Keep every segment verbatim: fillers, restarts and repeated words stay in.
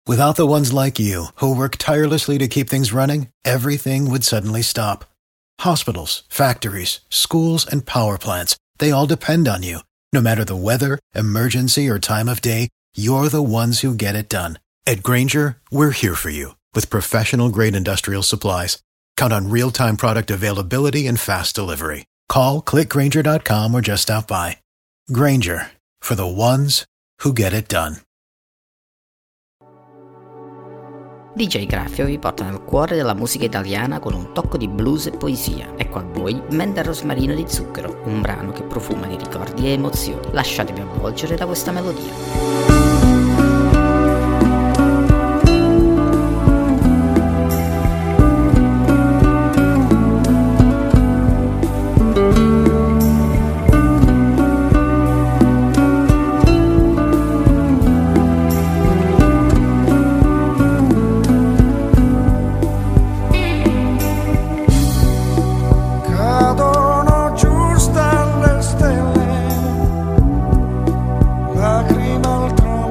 Without the ones like you, who work tirelessly to keep things running, everything would suddenly stop. Hospitals, factories, schools, and power plants, they all depend on you. No matter the weather, emergency, or time of day, you're the ones who get it done. At Grainger, we're here for you with professional-grade industrial supplies. Count on real-time product availability and fast delivery. Call, click grainger dot com or just stop by. Grainger, for the ones who get it done. D J Graffio vi porta nel cuore della musica italiana con un tocco di blues e poesia. Ecco a voi Menta Rosmarino di Zucchero, un brano che profuma di ricordi e emozioni. Lasciatevi avvolgere da questa melodia. Lacrima al trono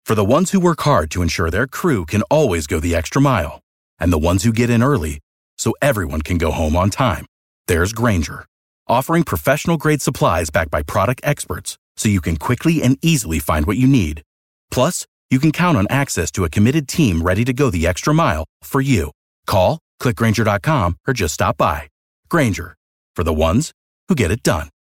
For the ones who work hard to ensure their crew can always go the extra mile, and the ones who get in early so everyone can go home on time, there's Grainger, offering professional-grade supplies backed by product experts so you can quickly and easily find what you need. Plus, you can count on access to a committed team ready to go the extra mile for you. Call, click Grainger dot com, or just stop by. Grainger, for the ones who get it done.